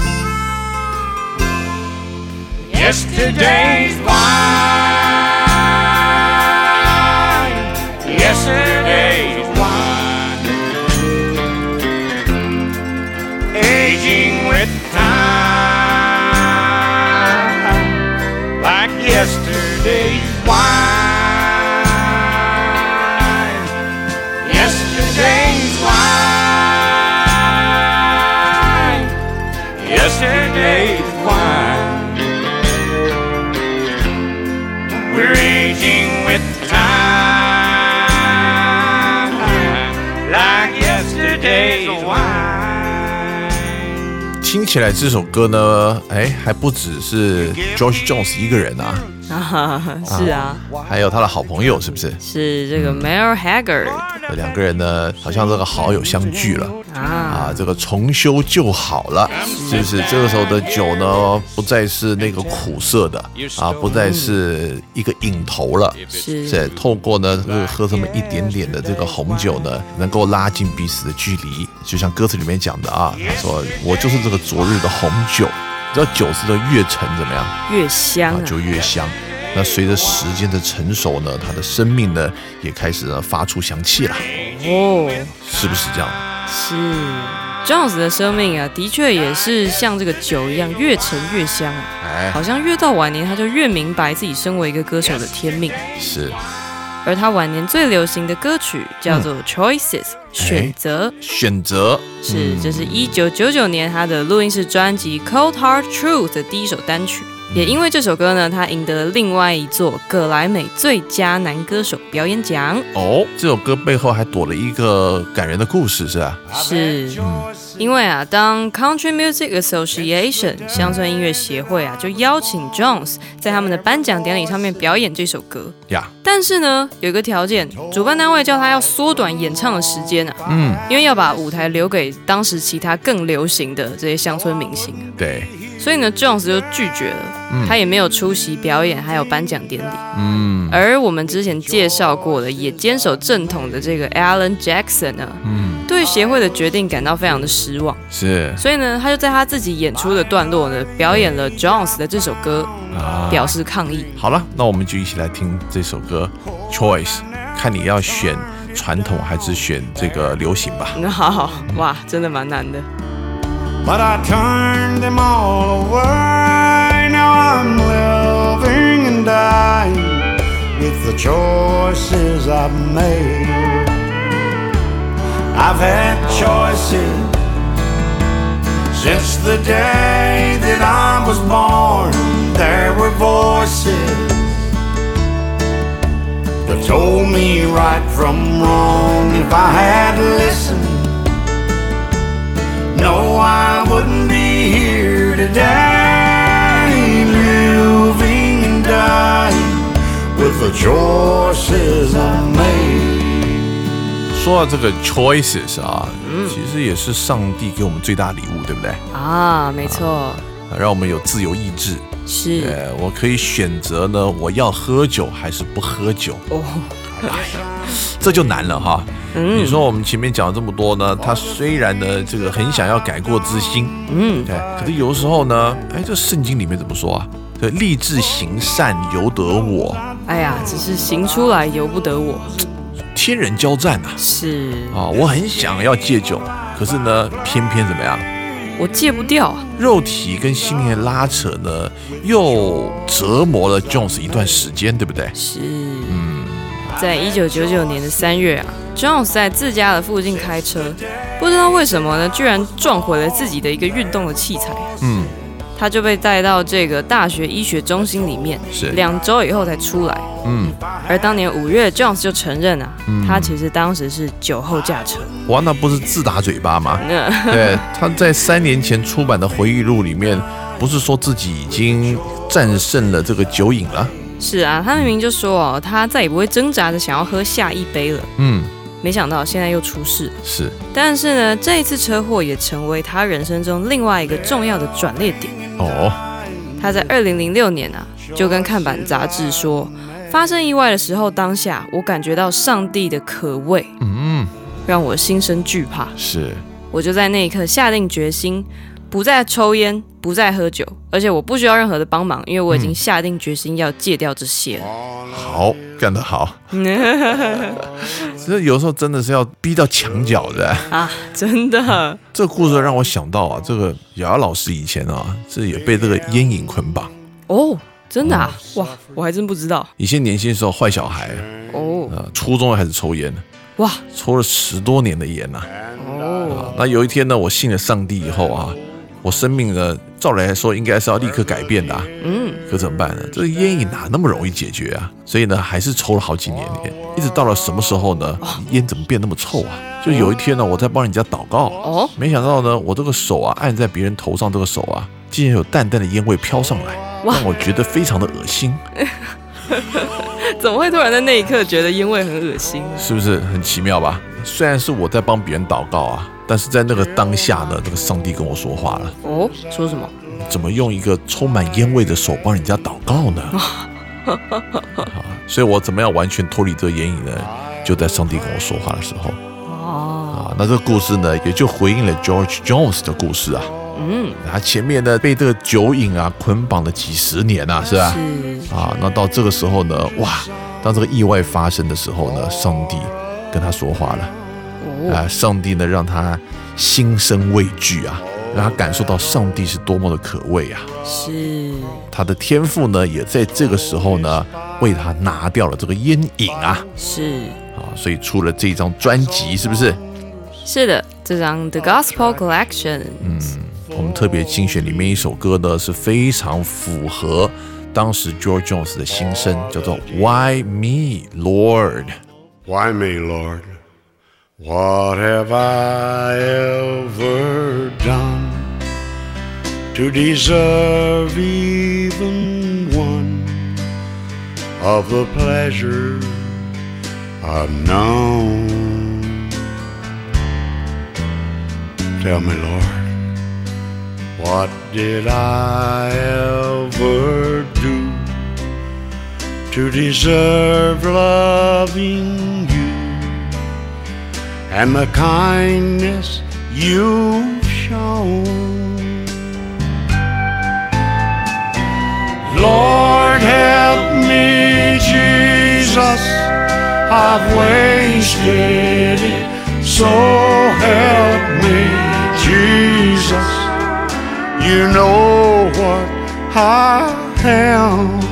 Yesterday's wine. Yesterday's wine. Aging with time, like yesterday's wine. Yesterday's wine. Yesterday's wine. We're aging with time, like yesterday's wine. 听起来这首歌呢，还不只是 George Jones 一个人啊。 是啊， 还有他的好朋友，是不是？ 是这个 Merle Haggard， 两个人呢，好像这个好友相聚了这个重修旧好了，就是这个时候的酒呢，不再是那个苦涩的不再是一个瘾头了，是透过呢喝这么一点点的这个红酒呢，能够拉近彼此的距离，就像歌词里面讲的他说我就是这个昨日的红酒。你知道酒是的越陈怎么样？ 越香就越香。那随着时间的成熟呢，他的生命呢也开始呢发出香气了。是不是这样？ 是 Jones 的生命啊，的确也是像这个酒一样越陈越香好像越到晚年他就越明白自己身为一个歌手的天命。 是。 而他晚年最流行的歌曲叫做 Choices， 选择。 选择这是1999年他的录音室专辑 Cold Hard Truth 的第一首单曲。也因为这首歌呢，他赢得了另外一座葛莱美最佳男歌手表演奖。 这首歌背后还躲了一个感人的故事，是吧？ 是，因为啊，当 Country Music Association 乡村音乐协会啊，就邀请 Jones 在他们的颁奖典礼上面表演这首歌。但是呢，有一个条件，主办单位叫他要缩短演唱的时间啊。因为要把舞台留给当时其他更流行的这些乡村明星。 对。 所以呢 ，Jones 就拒绝了，他也没有出席表演，还有颁奖典礼。而我们之前介绍过的，也坚守正统的这个 Alan Jackson 呢，对协会的决定感到非常的失望。 是， 所以呢，他就在他自己演出的段落呢，表演了 Jones 的这首歌，表示抗议。 好了，那我们就一起来听这首歌 Choice， 看你要选传统还是选这个流行吧。 好，哇，真的蛮难的。 But I turned them all away. Now I'm living and dying with the choices I've made. I've had choices since the day that I was born. There were voices that told me right from wrong. If I had listened,No, I wouldn't be here today, living and dying with the choices I made. 说到这个 choices 啊，其实也是上帝给我们最大礼物，对不对？ 没错， 让我们有自由意志。 是， 我可以选择呢，我要喝酒还是不喝酒。这就难了哈。你说我们前面讲了这么多呢，他虽然呢这个很想要改过自新，对，可是有时候呢，这圣经里面怎么说啊？立志行善由得我， 只是行出来由不得我， 天人交战啊！ 是啊，我很想要戒酒，可是呢，偏偏怎么样？ 我戒不掉啊！ 肉体跟心灵的拉扯呢，又折磨了 Jones 一段时间，对不对？ 是，在1999年的3月啊 ，Jones 在自家的附近开车，不知道为什么呢，居然撞毁了自己的一个运动的器材。他就被带到这个大学医学中心里面，2周以后才出来。而当年5月 ，Jones 就承认啊，他其实当时是酒后驾车。 哇，那不是自打嘴巴吗？对，他在3年前出版的回忆录里面，不是说自己已经战胜了这个酒瘾了？是啊，他明明就说他再也不会挣扎着想要喝下一杯了。没想到现在又出事。 是， 但是呢，这一次车祸也成为他人生中另外一个重要的转捩点。他在2006年啊，就跟看板杂志说，发生意外的时候，当下我感觉到上帝的可畏，让我心生惧怕。 是， 我就在那一刻下定决心，不再抽烟，不再喝酒，而且我不需要任何的帮忙，因为我已经下定决心要戒掉这些了。 好，干得好。这有时候真的是要逼到墙角的啊，真的。 这个故事让我想到啊，这个瑶瑶老师以前啊，这也被这个烟瘾捆绑。 真的啊？哇，我还真不知道。 以前年轻的时候坏小孩初中开始抽烟，哇，抽了10多年的烟呐。那有一天呢，我信了上帝以后啊，我生命呢，照理来说应该是要立刻改变的啊。可怎么办呢？这个烟瘾哪那么容易解决啊？所以呢，还是抽了好几年烟，一直到了什么时候呢？烟怎么变那么臭啊？就有一天呢，我在帮人家祷告，没想到呢，我这个手啊按在别人头上，这个手啊竟然有淡淡的烟味飘上来，让我觉得非常的恶心。 怎么会突然在那一刻觉得烟味很恶心？ 是不是很奇妙吧？虽然是我在帮别人祷告啊，但是在那个当下呢，这个上帝跟我说话了。 说什么？ 怎么用一个充满烟味的手帮人家祷告呢？所以我怎么样完全脱离这个烟瘾呢？就在上帝跟我说话的时候。那这个故事呢，也就回应了 George Jones 的故事啊。他前面呢被这个酒瘾啊捆绑了几十年啊，是吧？那到这个时候呢，哇，当这个意外发生的时候呢，上帝跟他说话了。上帝呢让他心生畏惧啊， 让他感受到上帝是多么的可畏啊。 是他的天父呢，也在这个时候呢，为他拿掉了这个烟瘾啊。 是所以出了这张专辑，是不是？ 是的，这张 The Gospel Collection。 我们特别精选里面一首歌呢，是非常符合当时 George Jones 的心声，叫做 Why Me Lord。 Why me, Lord? What have I ever done to deserve even one of the pleasures I've known? Tell me, Lord, what did I ever do to deserve loving you and the kindness you've shown? Lord, help me, Jesus, I've wasted it. So help me, Jesus, you know what I am.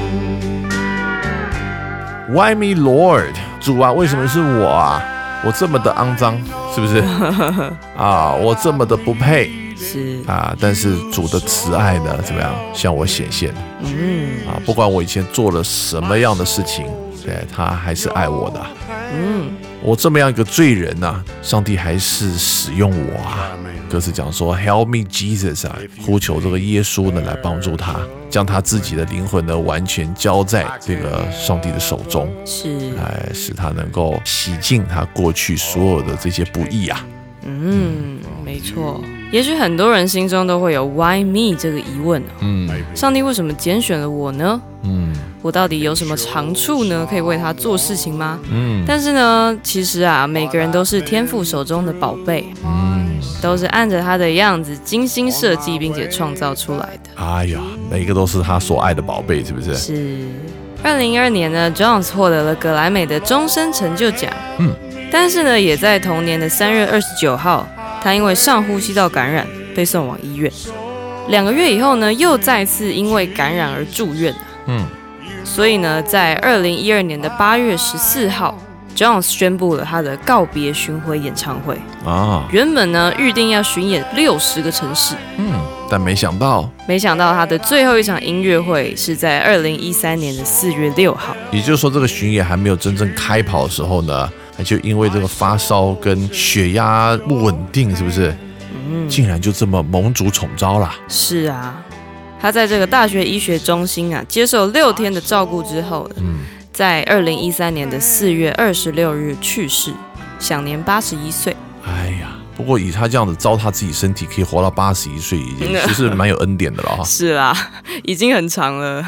Why me, Lord？ 主啊，为什么是我啊？我这么的肮脏，是不是？我这么的不配， 是但是主的慈爱呢，怎么样向我显现？不管我以前做了什么样的事情，对，他还是爱我的。我这么样一个罪人啊，上帝还是使用我啊。歌词讲说 Help me Jesus 啊，呼求这个耶稣呢来帮助他，将他自己的灵魂呢完全交在这个上帝的手中， 是， 使他能够洗净他过去所有的这些不义啊。 没错。也许很多人心中都会有 Why me 这个疑问上帝为什么拣选了我呢？我到底有什么长处呢？可以为他做事情吗？但是呢，其实啊，每个人都是天父手中的宝贝，都是按着他的样子精心设计并且创造出来的。 哎呀，每个都是他所爱的宝贝，是不是？ 是。2012年呢 ，Jones 获得了格莱美的终身成就奖。但是呢，也在同年的3月29号，他因为上呼吸道感染被送往医院。2个月以后呢，又再次因为感染而住院。所以呢，在2012年的8月14号 ，Jones 宣布了他的告别巡回演唱会。原本呢预定要巡演60个城市。 但没想到他的最后一场音乐会是在2013年的4月6号。 也就是说，这个巡演还没有真正开跑的时候呢，就因为这个发烧跟血压不稳定，是不是？竟然就这么蒙主宠召了。 是啊，他在这个大学医学中心啊接受6天的照顾之后，在2013年的4月26日去世，享年81岁。 哎呀，不过以他这样子糟蹋自己身体，可以活到81岁，其实蛮有恩典的了哈。 是啦，已经很长了。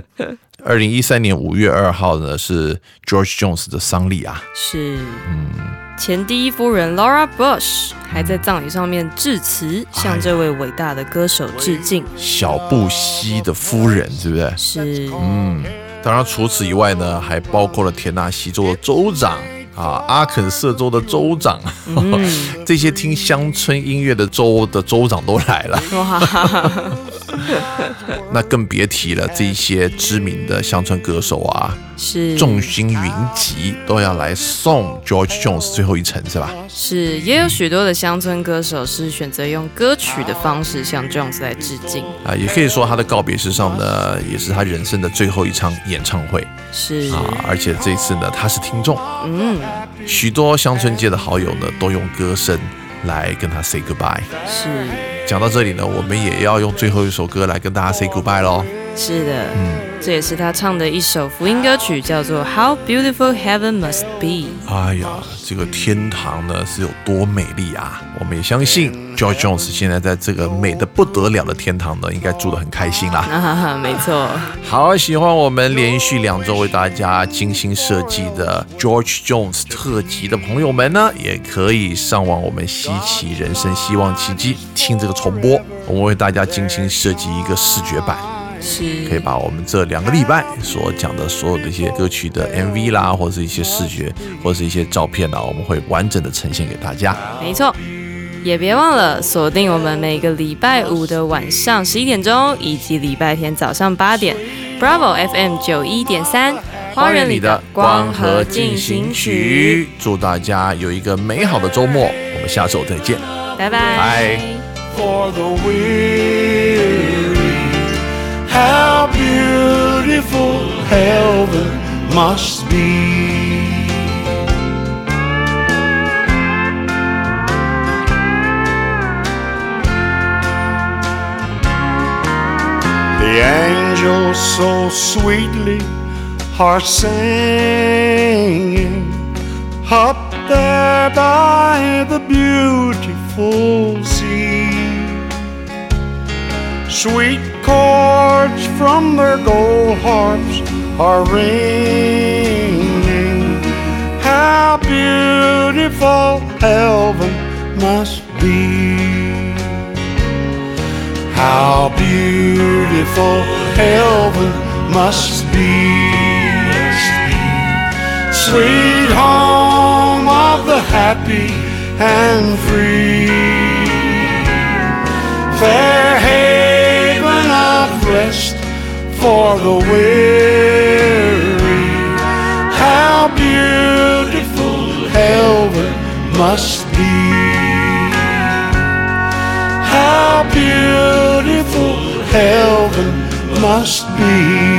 2013年5月2号呢是 George Jones 的丧礼啊。 是。前第一夫人 Laura Bush 还在葬礼上面致辞，向这位伟大的歌手致敬。 小布希的夫人，是不是？ 是。 当然除此以外呢，还包括了田纳西州的州长阿肯色州的州长，这些听乡村音乐的州的州长都来了。那更别提了这些知名的乡村歌手啊， 是众星云集，都要来送 George Jones 最后一程，是吧？ 是，也有许多的乡村歌手是选择用歌曲的方式向 Jones 来致敬也可以说他的告别式上呢，也是他人生的最后一场演唱会。 是而且这次呢，他是听众，许多乡村界的好友呢，都用歌声来跟他 say goodbye。 是。 讲到这里呢，我们也要用最后一首歌来跟大家 say goodbye 咯。 是的，这也是他唱的一首福音歌曲，叫做 How Beautiful Heaven Must Be。 哎呀，这个天堂呢是有多美丽啊！我们也相信 George Jones 现在在这个美得不得了的天堂呢，应该住得很开心啦。 没错。 好，喜欢我们连续2周为大家精心设计的 George Jones 特辑的朋友们呢，也可以上网我们稀奇人生希望奇迹听这个重播，我们为大家精心设计一个视觉版。 是， 可以把我们这2个礼拜所讲的所有的一些歌曲的 MV 啦，或者是一些视觉，或者是一些照片啦，我们会完整的呈现给大家。 没错。 也别忘了锁定我们每个礼拜五的晚上11点钟，以及礼拜天早上8点 ，Bravo FM 91.3，花园里的光和进行曲。 祝大家有一个美好的周末，我们下周再见， 拜拜。 拜。 For the weary, how beautiful heaven must be. The angels so sweetly are singing up there by the beautiful sea. Sweet chords from their gold harps are ringing. How beautiful heaven must be. How beautiful heaven must be. Sweet home of the happy and free. Fair haven of rest for the weary. How beautiful heaven must be. How beautiful heaven must be.